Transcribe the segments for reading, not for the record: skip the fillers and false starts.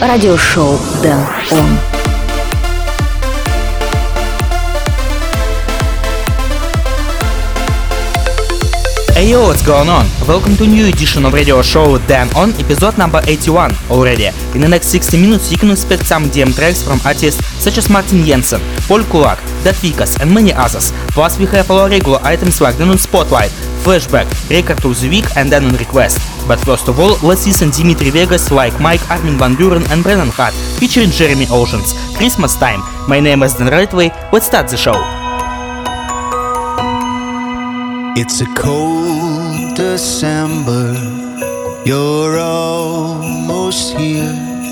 радиошоу Дэн Он. Hey yo, what's going on? Welcome to a new edition of radio show Dan On, episode number 81 already. In the next 60 minutes you can expect some DM tracks from artists such as Martin Jensen, Paul Kulak, Dead Vikas and many others. Plus we have our regular items like the Noon Spotlight, Flashback, Record of the Week and then on request. But first of all, let's listen Dimitri Vegas, Like Mike, Armin van Buuren and Brennan Hart, featuring Jeremy Oceans. Christmas time. My name is Dan Redway. Let's start the show. It's a cold December, you're almost here.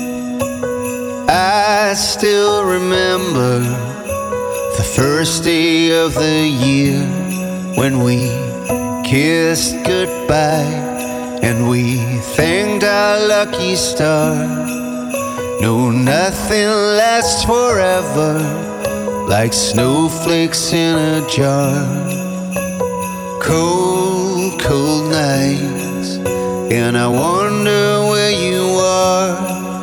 I still remember the first day of the year when we kissed goodbye and we thanked our lucky star. No, nothing lasts forever like snowflakes in a jar. Cold, cold nights, and I wonder where you are.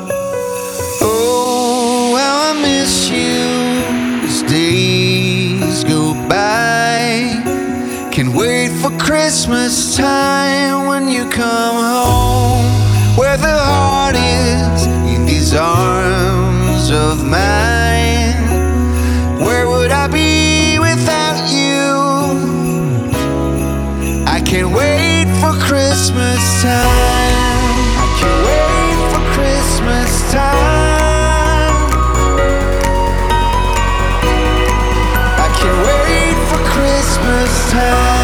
Oh, how I miss you as days go by. Can't wait for Christmas time when you come home, where the heart is in these arms of mine. Where would I be without you? I can't wait for Christmas time. I can't wait for Christmas time. I can't wait for Christmas time.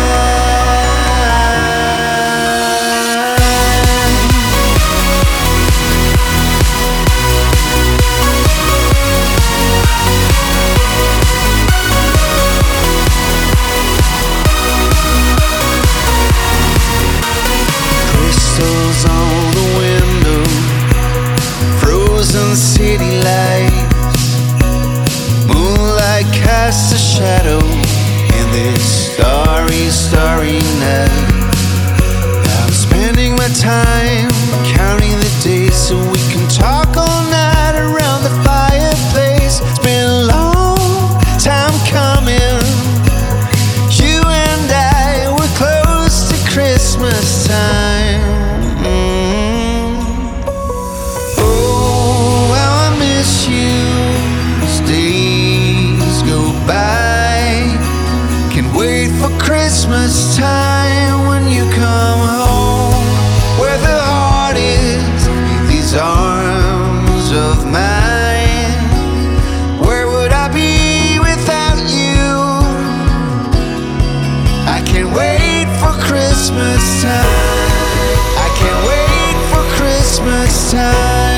On the window, frozen city lights, moonlight casts a shadow in this starry, starry night. I'm spending my time counting the days so we can talk all night around the fireplace. It's been a long time coming. You and I were close to Christmas time. Christmas time when you come home, where the heart is in these arms of mine. Where would I be without you? I can't wait for Christmas time. I can't wait for Christmas time.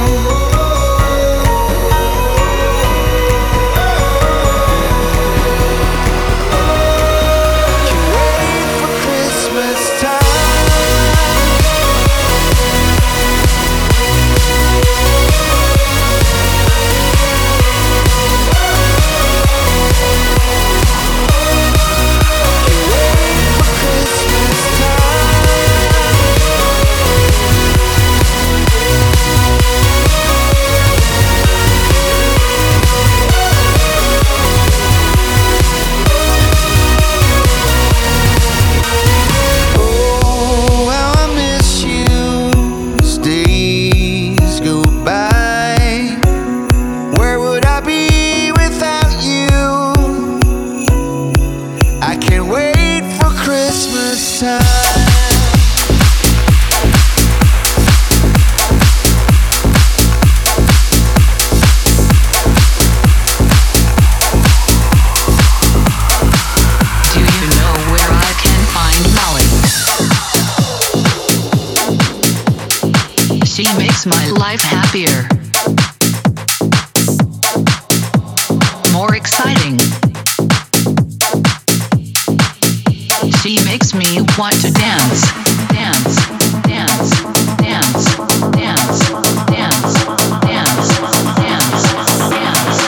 My life happier, more exciting. She makes me want to dance, dance, dance, dance, dance, dance, dance, dance, dance,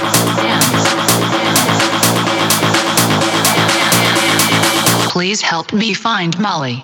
dance. Please help me find Molly.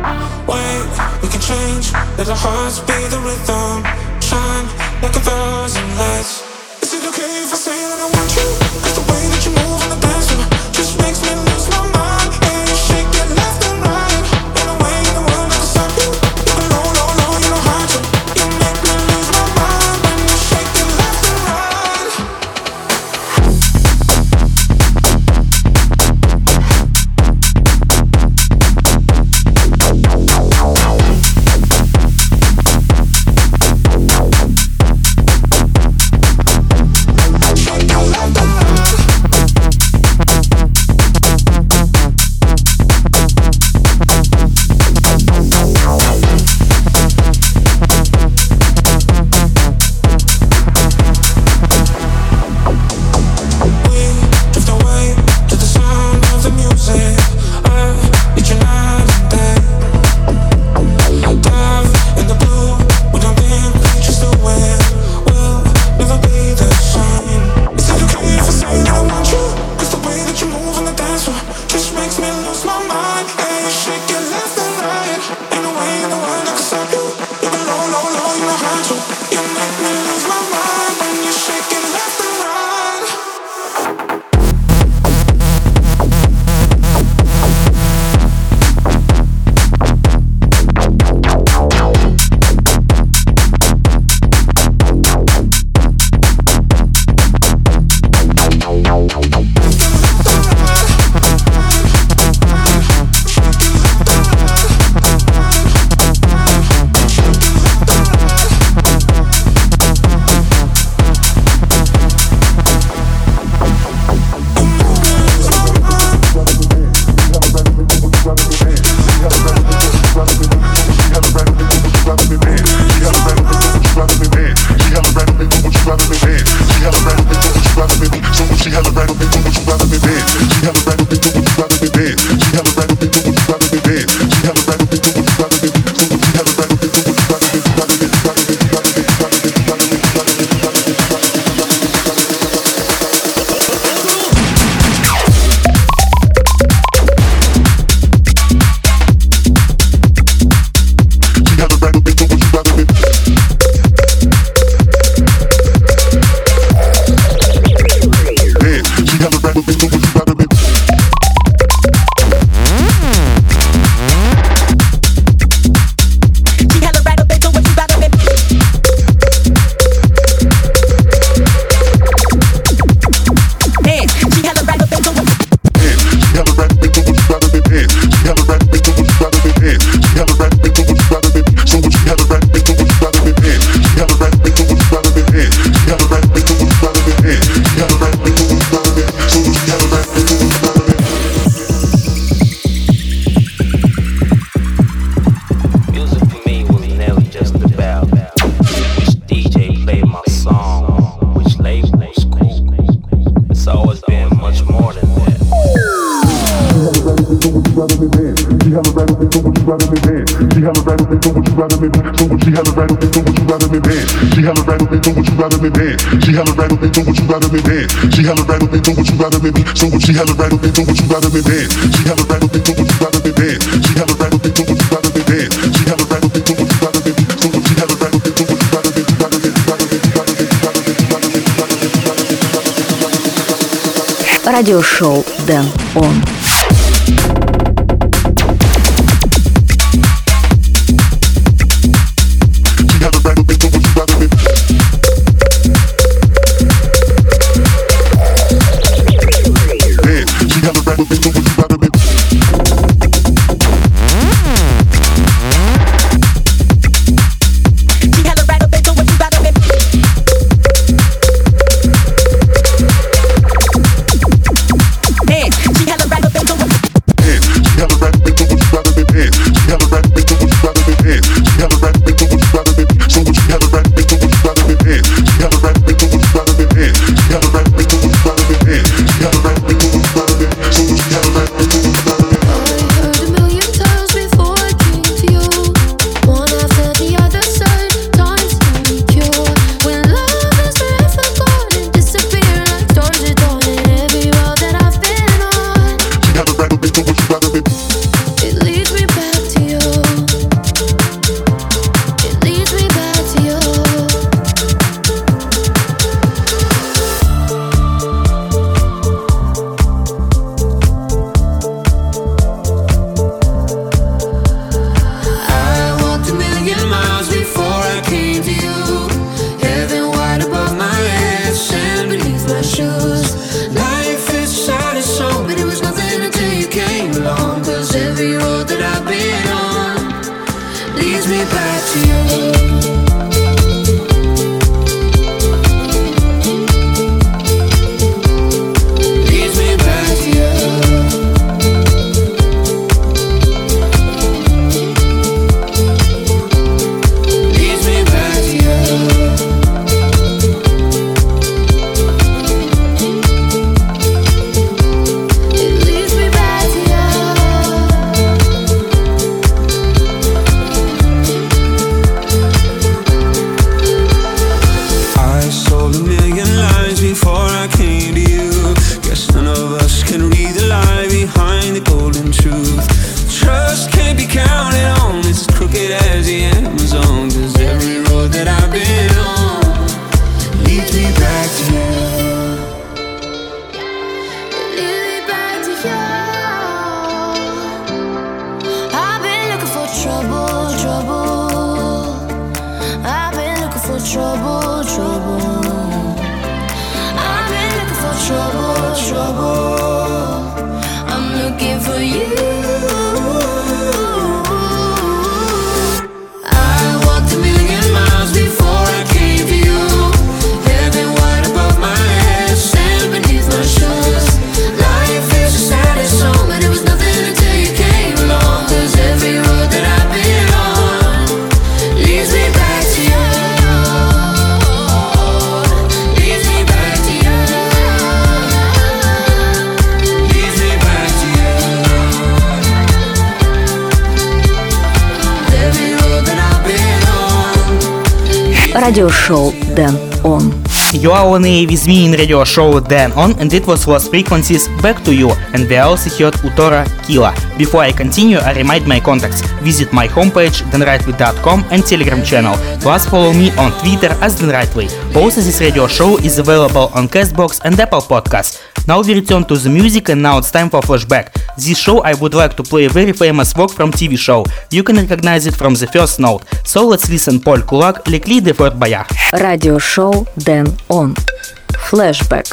let our hearts be the rhythm. Shine like a thousand lights. Is it okay if I say that I want you? 'Cause the way that you move on the dance floor just makes me lose my mind. And you shake it left and right. Ain't no way in the world I can stop you. You go low, low, low, you know how to. You make me lose my mind when you shake it left and right. Радиошоу Дэн Он. She had a right up me back to you. Leads me back to you. Leads me back to you. It leads me back to you. I sold a million lies before I came to you. Guess none of us can read the lie behind the golden truth. Trust can't be counted on, it's as crooked as the Amazon. 'Cause every road that I've been on leads me back to you. Lead me back to you. I've been looking for trouble, trouble. I've been looking for trouble, trouble. I've been looking for trouble, trouble. I'm looking for you. I walked a million miles before I came to you. Heaven wide above my head, sand beneath my shoes. Life is a saddest song, but it was nothing until you came along. 'Cause every road that I've been on leads me back to you. Leads me back to you. Leads me back to you. Every road that I've been on. Радиошоу Дэн Он. You are on air with me in radio show Dan On, and it was Lost Frequencies Back to You, and we also heard Utora Killa. Before I continue, I remind my contacts. Visit my homepage danrightway.com and Telegram channel, plus follow me on Twitter as danrightway. Also, this radio show is available on Castbox and Apple Podcasts. Now we return to the music, and now it's time for flashback. This show I would like to play a very famous work from TV show. You can recognize it from the first note. So let's listen Paul Kulak, Les Clés de Fort Boyard. Радиошоу Дэн Он. Флэшбэк.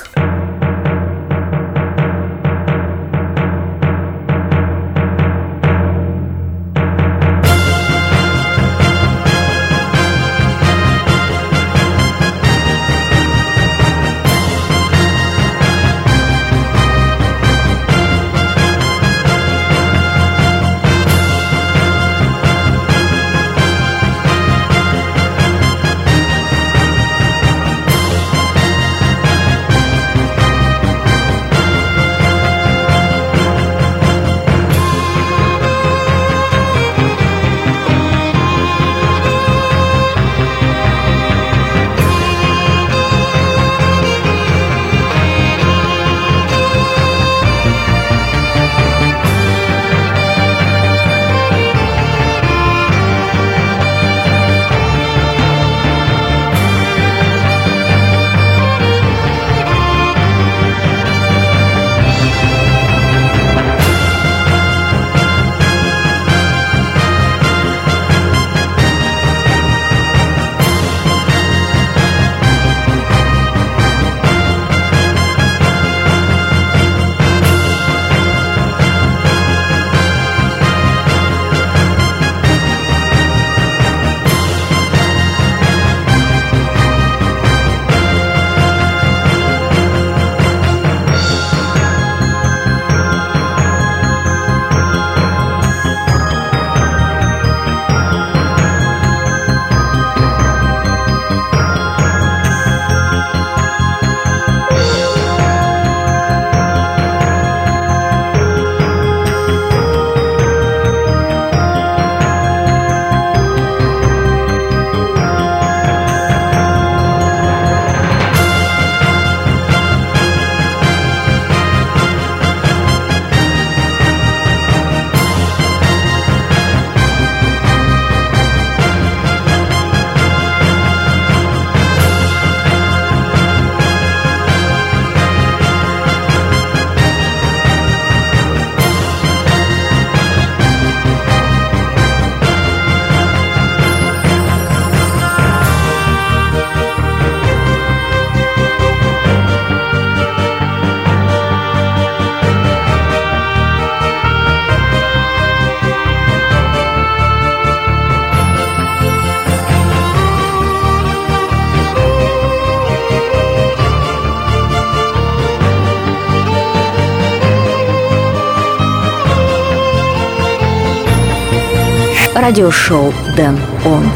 радиошоу Дэн Он.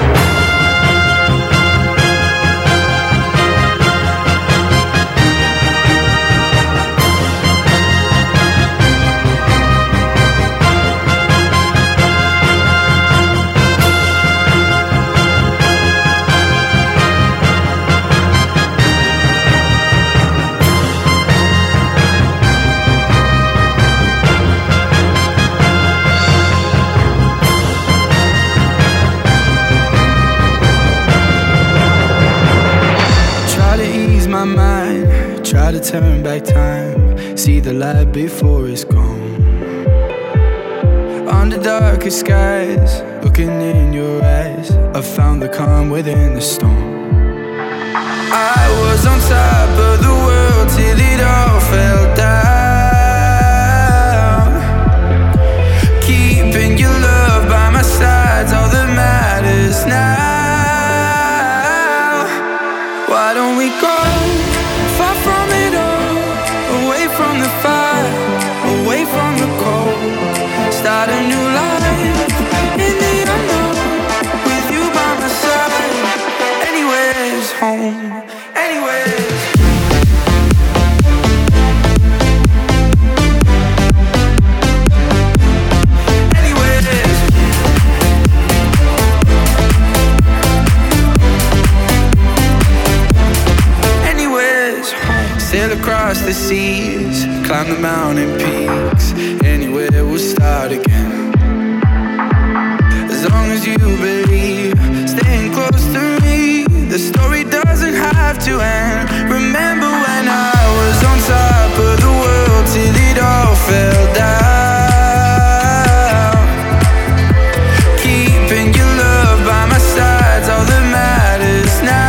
Try to turn back time, see the light before it's gone. Under darker skies, looking in your eyes, I found the calm within the storm. I was on top of the world till it all fell down. Keeping your love by my side's all that matters now. Why don't we go far from it all, away from the fire, away from the cold, start a new life in the unknown, with you by my side. Anywhere's home, anywhere's sail across the seas, climb the mountain peaks, anywhere we'll start again. As long as you believe, staying close to me, the story doesn't have to end. Remember when I was on top of the world till it all fell down. Keeping your love by my side's all that matters now.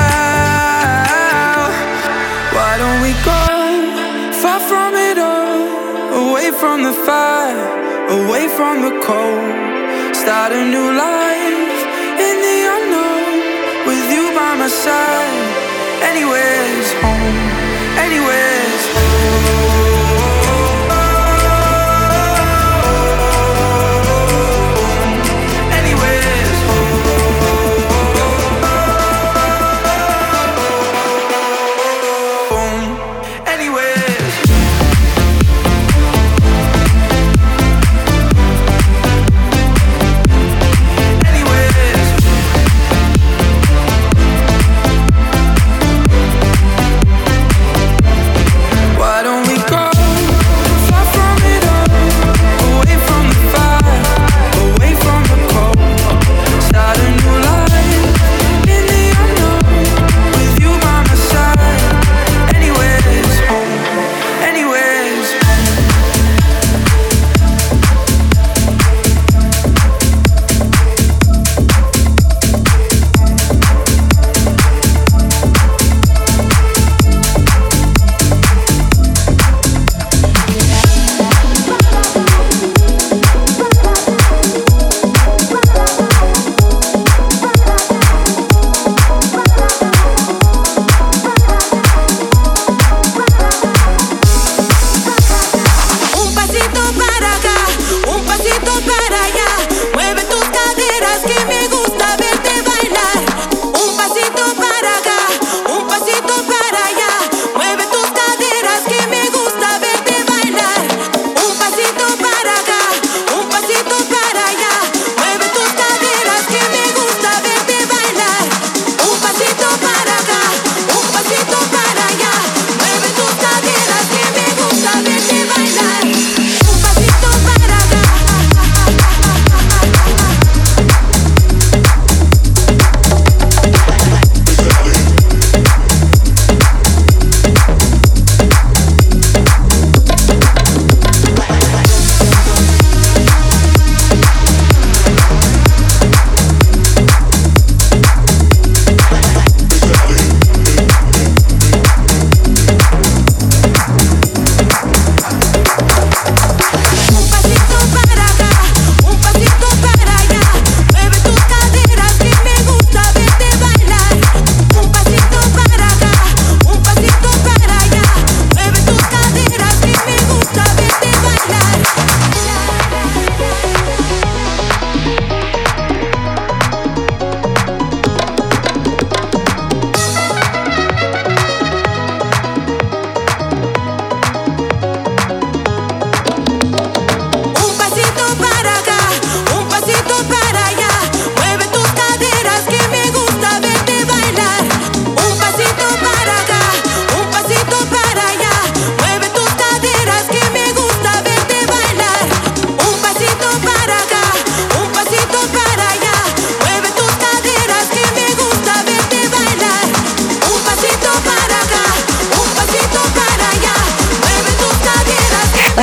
Why don't we go far from it all, away from the fire, away from the cold, start a new life in the unknown, with you by my side. Anywhere's home, anywhere's home.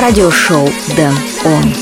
Радиошоу Дэн Он.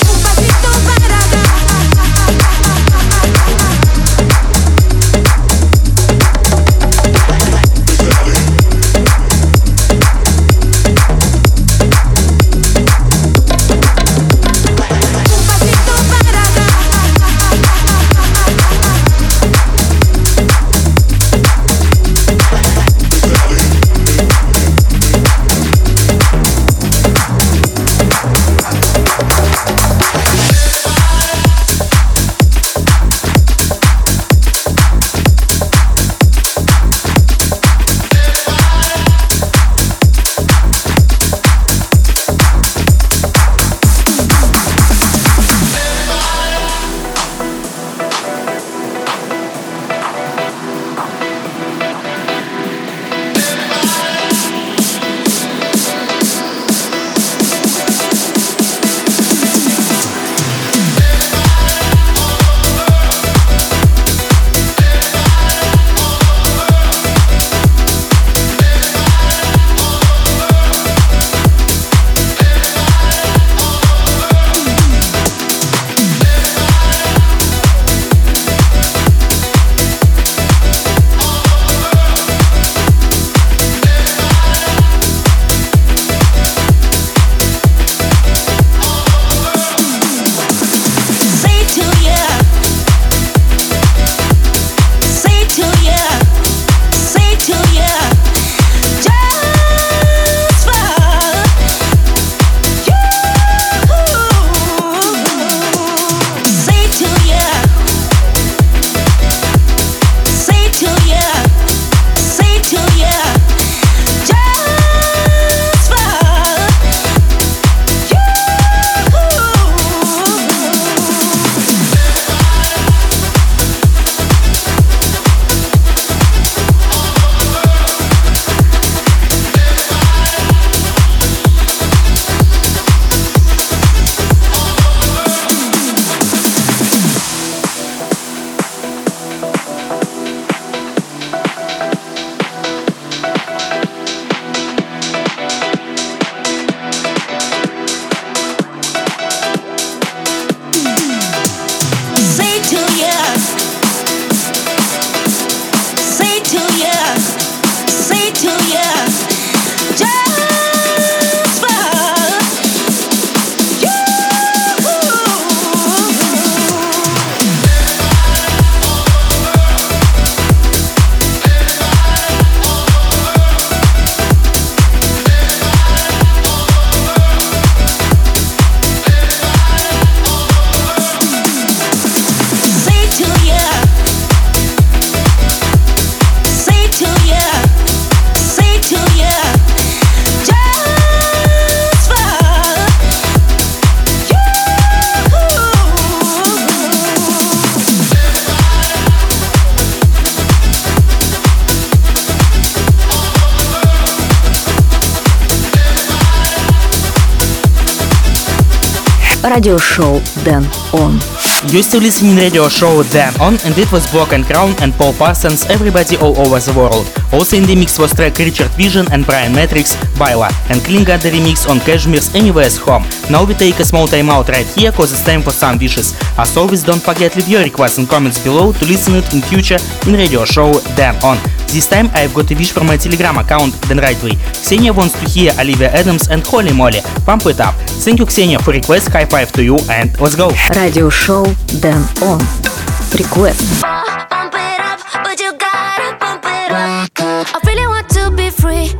Радиошоу Дэн Он. You're still listening radio show Dan On, and it was Broken Crown and Paul Parsons, Everybody All Over the World. Also in the mix was track Richard Vision and Brian Matrix, Baila, and Kling got the remix on Cashmere's Anywhere's Home. Now we take a small time out right here cause it's time for some wishes. As always, don't forget leave your requests and comments below to listen it in future in radio show Dan On. This time I've got a wish from my Telegram account Dan Rightway. Ksenia wants to hear Olivia Adams and Holy Moly. Pump it up. Thank you, Ksenia, for request. High five to you and let's go. Радиошоу Дэн Он. Request. Pump it up, but you gotta pump it up. I really want to be free.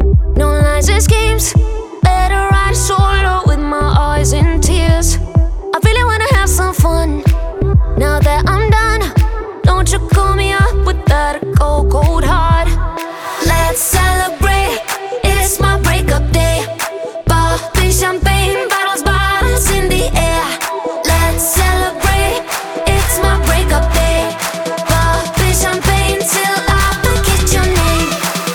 No lies and schemes. Better ride solo with my eyes in tears. I really wanna have some fun. Now that I'm done, don't you call me up with that cold heart. Let's celebrate. It's my breakup day. Popping champagne, bottles in the air. Let's celebrate. It's my breakup day. Popping champagne till I forget your name.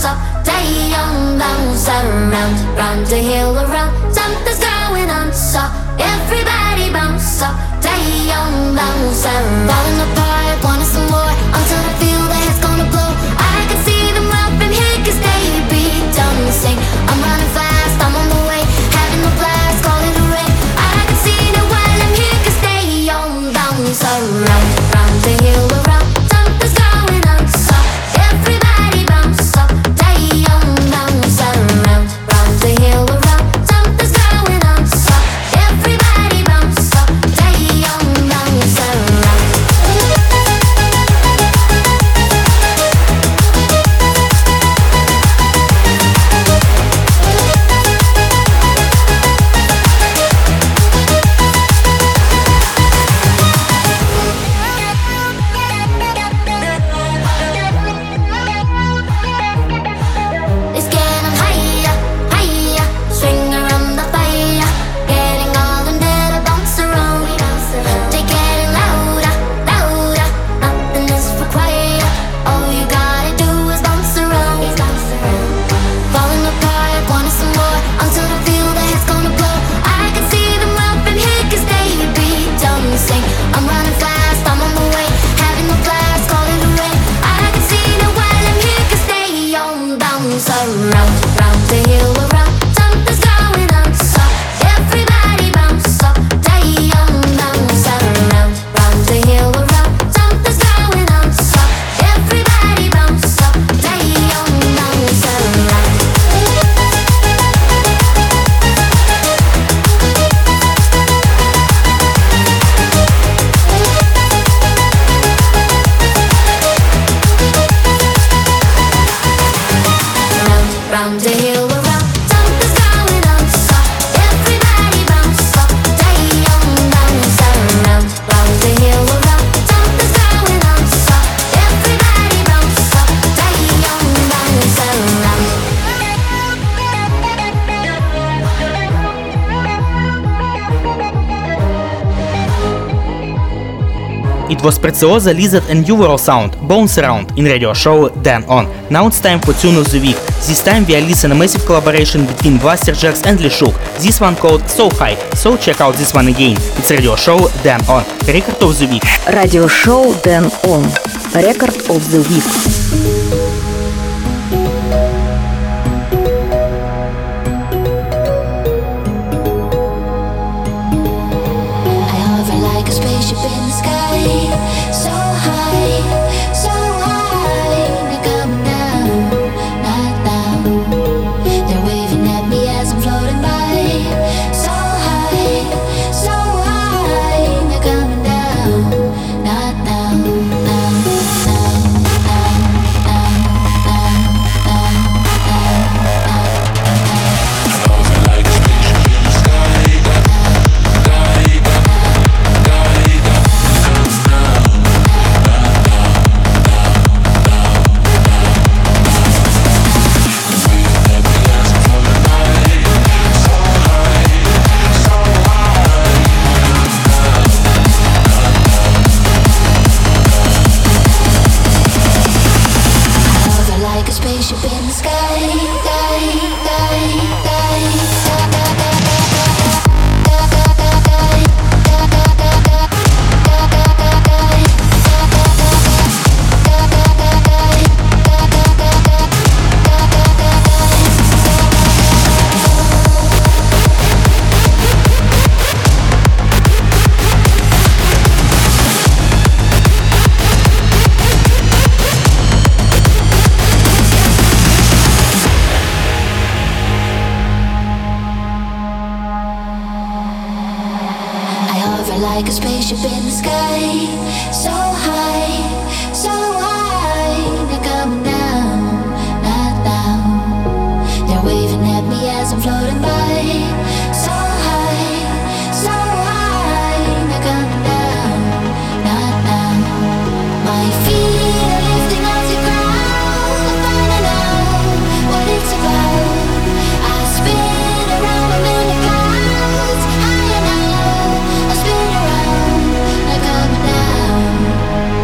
up, day on, bounce around, round the hill around. Something's going on, so everybody bounce up, day on, bounce around. Falling apart, wanting some more, until I feel the head's gonna blow. I can see them up from here, cause they be dancing. I'm running fast, I'm on the way, having a blast, call it a rain. I can see them while I'm here, cause they on, bounce around, round the hill around. Something's going on, so everybody bounce up, day on, bounce around, round the hill around. Something's going on, so everybody bounce up, day on, bounce around. It's getting higher, higher, swing around the fire, getting all them dead to bounce around. They getting louder, louder, nothing is required. All you gotta do is bounce around. Falling apart, wanting some more, until I feel the head's gonna blow. I can see them up in here, cause they be dancing. I'm running fast, I'm on the way, having a blast, call it a rain. I can see them while I'm here, cause they on, bounce around, round the hill around. Something's going on, so everybody bounce up, day on, bounce around, round the hill around. Something's going on, so everybody bounce up, day on, bounce around. Round the hill around, something's going on, so everybody bounce up, day on, bounce around. Round the hill around, something's going on, so everybody bounce up, day on, bounce around. It was Preziosa, Lizard and New Sound, Bounce Around in radio show Dan On. Now it's time for Tune of the Week. This time we are listening a massive collaboration between Blasterjaxx and Leshuk. This one called So High, so check out this one again. It's radio show Dan On. Record of the Week. Радиошоу Дэн Он. Record of the Week. I hover like a spaceship in the sky, so high, they're coming down, not down. They're waving at me as I'm floating by, so high, they're coming down, not down, down, down, down, down, like a spaceship in the sky, like a spaceship in the sky, so high, they're coming down, not down. They're waving at me as I'm floating by, so high, they're coming down, not down. My feet are lifting off the ground, I'm finding out what it's about. I spin around, I'm in the clouds, higher now. I spin around, they're coming down.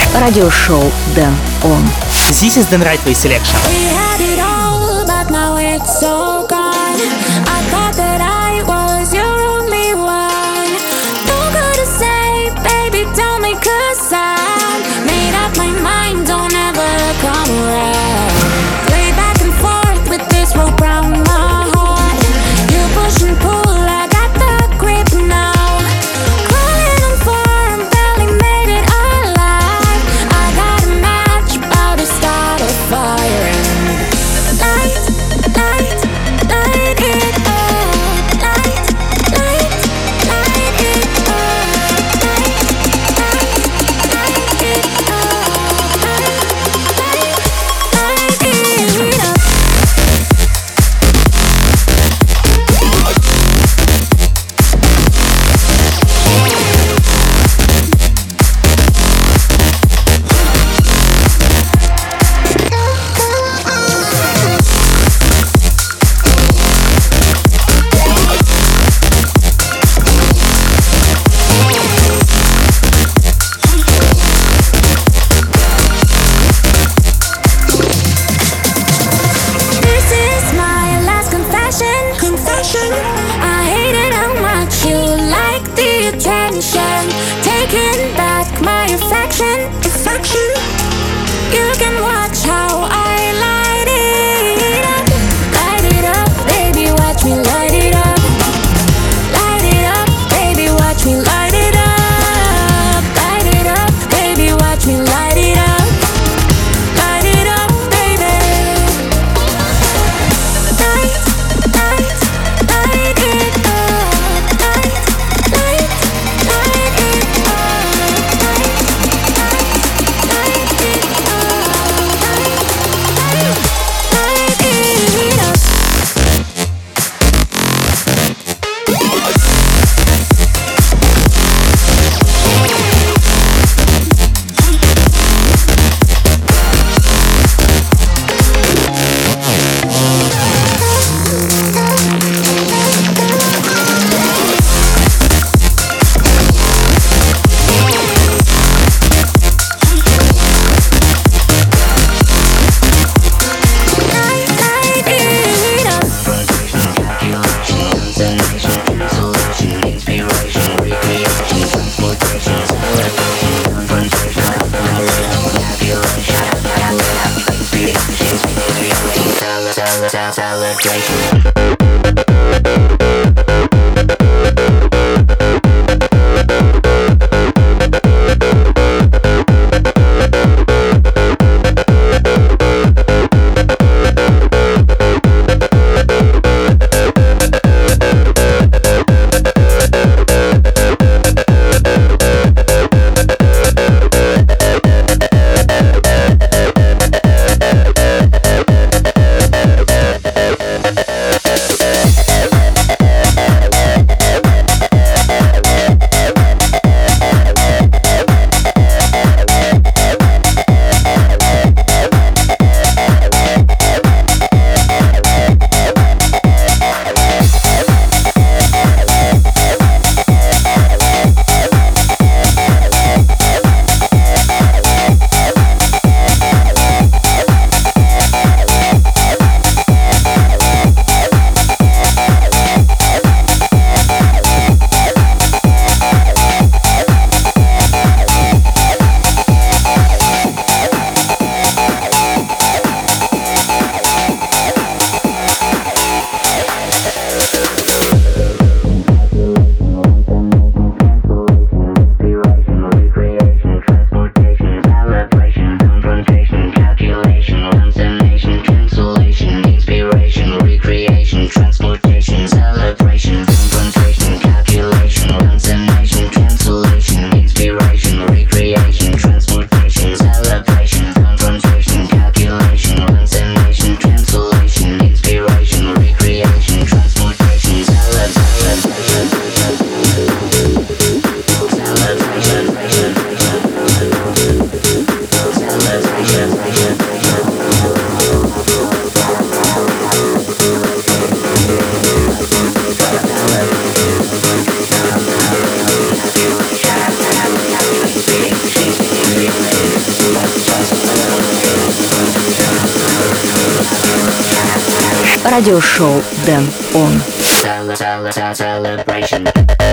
радиошоу Дэн Он. This is the right way selection. We had it all, but now it's all gone. I thought that I was your only one. No good to say, baby, tell me, 'cause I made up my mind, don't ever come around. Play back and forth with this rope round my heart. You push and pull, I got the grip now. Crawling on firm, barely made it alive. I got a match, about to start a fire. Light, light, light it up. Light, light, light it up. Light, light, light it up. Light, light it up. This is my last confession. I hated how much you like the attention. Taking back my affection. You can watch how I light it up. Light it up, baby, watch me light it up. Light it up, baby, watch me light it up. Light it up, baby, watch me light it up. Light it up, baby. Light, light, light it up. Light, light, light it up. Light, light, light it up. Light, light it up. Light, light it up. радиошоу Дэн Он. Celebration.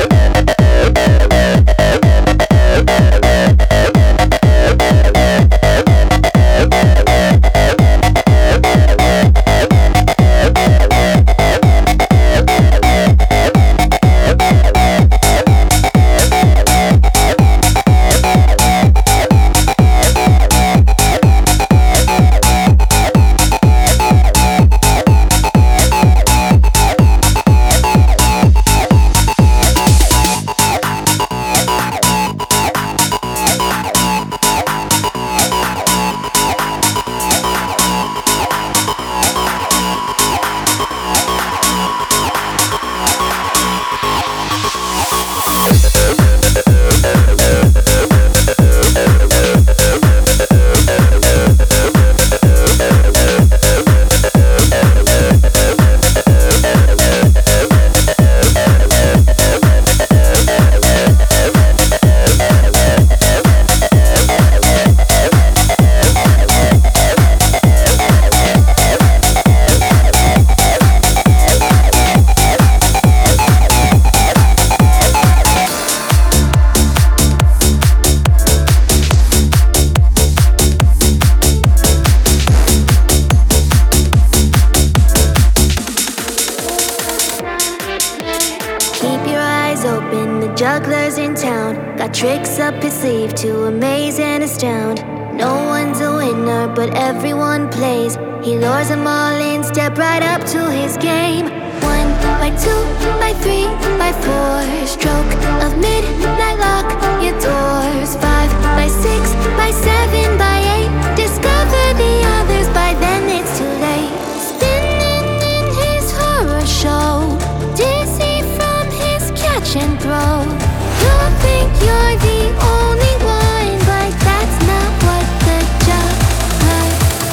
Jugglers in town got tricks up his sleeve to amaze and astound. No one's a winner, but everyone plays. He lures them all in, step right up to his game. 1 by 2 by 3 by 4, stroke of midnight lock your doors. 5 by 6 by 7 by 8, discover the others, by then it's too late. Spinning in his horror show, dizzy from his catch and throw. You think you're the only one, but that's not what the juggler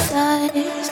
does.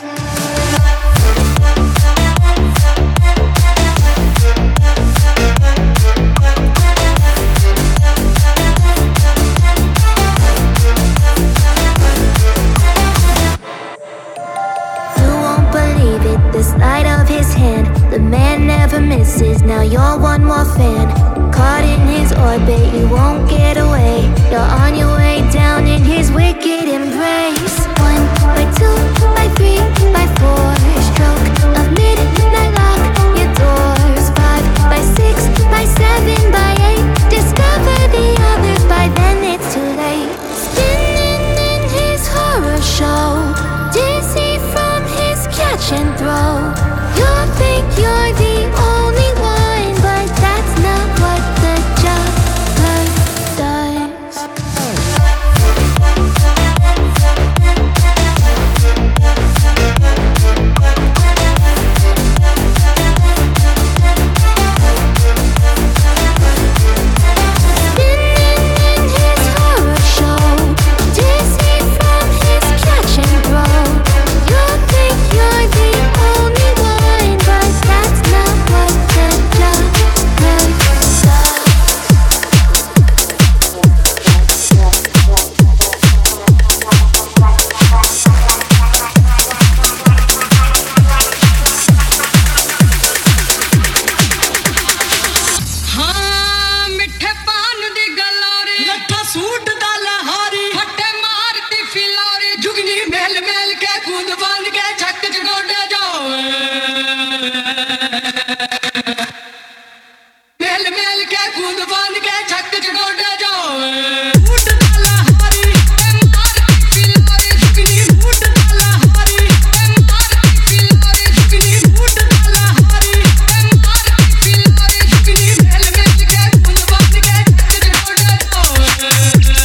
You won't believe it, the sleight of his hand. The man never misses, now you're one more fan. Caught in his orbit, you won't get away. You're on your way down in his wicked embrace. 1 by 2 by 3 by 4, stroke of midnight lock your doors. 5 by 6 by 7 by 8, discover the others, by then it's too late. Spinning in his horror show, dizzy from his catch and throw. You think you're the only one, but that's not what the juggler does. Spinning in his horror show, dizzy from his catch and throw. You think you're the only one, but that's not what the juggler does. ਹਾਂ ਮਿੱਠੇ ਪਾਨ ਦੀ glory ਲੱਠਾ suit ਦਾ ਲਹਾਰੀ ਫੱਟੇ ਮਾਰਤੀ ਫਿਲੌਰੀ ਜੁਗਨੀ ਮੇਲ ਮੇਲ ਕੇ ਕੂਦ ਬੰਨ ਕੇ ਛੱਕ ਚ ਗੋਡੇ ਜਾਵੇ ਮੇਲ ਮੇਲ ਕੇ ਕੂਦ ਬੰਨ ਕੇ ਛੱਕ ਚ ਗੋਡੇ ਜਾਵੇ ਸੂਟ ਦਾ ਲਹਾਰੀ ਮਾਰਤੀ ਫਿਲੌਰੀ ਜੁਗਨੀ ਸੂਟ ਦਾ ਲਹਾਰੀ ਮਾਰਤੀ ਫਿਲੌਰੀ ਜੁਗਨੀ ਸੂਟ ਦਾ ਲਹਾਰੀ ਮਾਰਤੀ ਫਿਲੌਰੀ ਜੁਗਨੀ ਮੇਲ ਮੇਲ ਕੇ ਕੂਦ ਬੰਨ ਕੇ ਛੱਕ ਚ ਗੋਡੇ ਜਾਵੇ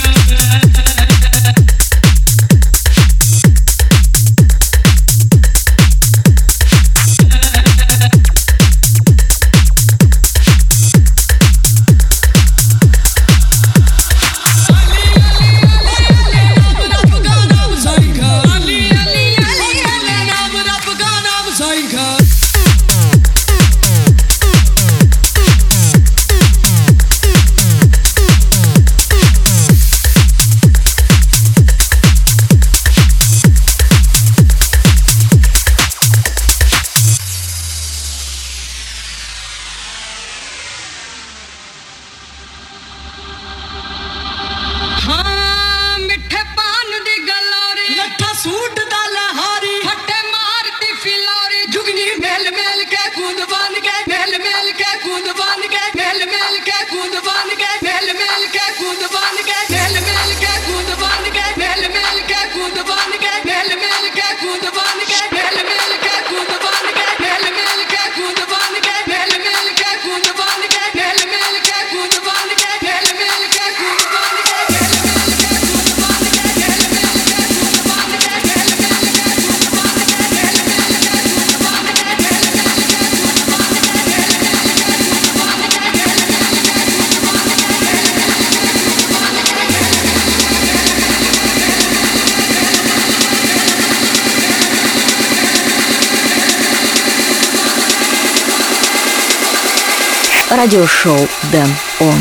радиошоу Дэн Он.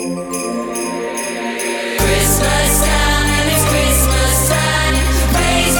Christmas time, it's Christmas time. Praise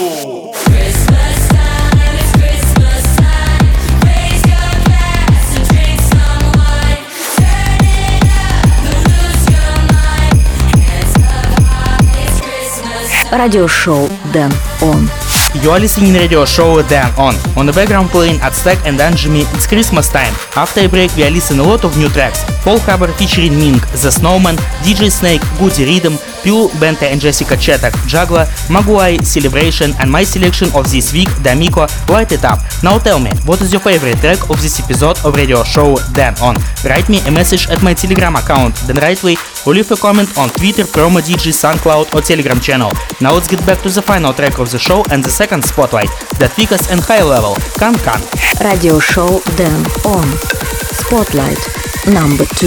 Радиошоу Дэн Он. You are listening to radio show Dan On the background playing Aztec and Anjimi It's Christmas Time. After a break we are listening a lot of new tracks. Paul Hubbard featuring Ming, The Snowman, DJ Snake, Goody Rhythm, Pure, Bente and Jessica Chetak, Juggler, Maguai, Celebration and my selection of this week, D'Amico, Light It Up. Now tell me, what is your favorite track of this episode of radio show Dan On? Write me a message at my Telegram account, Dan Rightway, or leave a comment on Twitter, Promo DJ, SoundCloud or Telegram channel. Now let's get back to the final track of the show and the second spotlight, The Thickest and High Level, Can Can. Радиошоу Дэн Он. Spotlight number 2.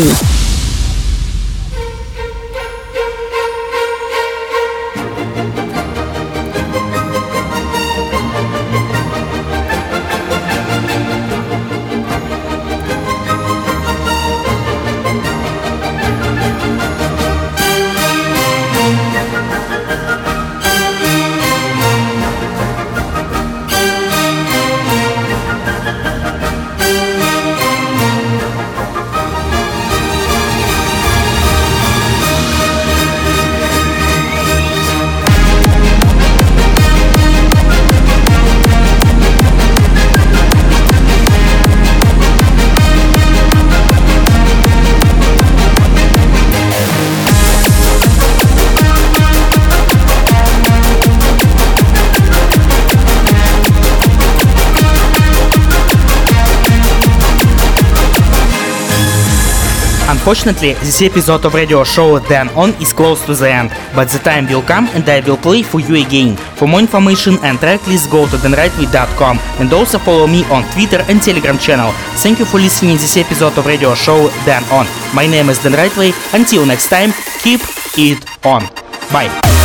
Unfortunately, this episode of radio show Dan On is close to the end, but the time will come and I will play for you again. For more information and track list, go to danrightway.com and also follow me on Twitter and Telegram channel. Thank you for listening to this episode of radio show Dan On. My name is Dan Rightway. Until next time, keep it on. Bye.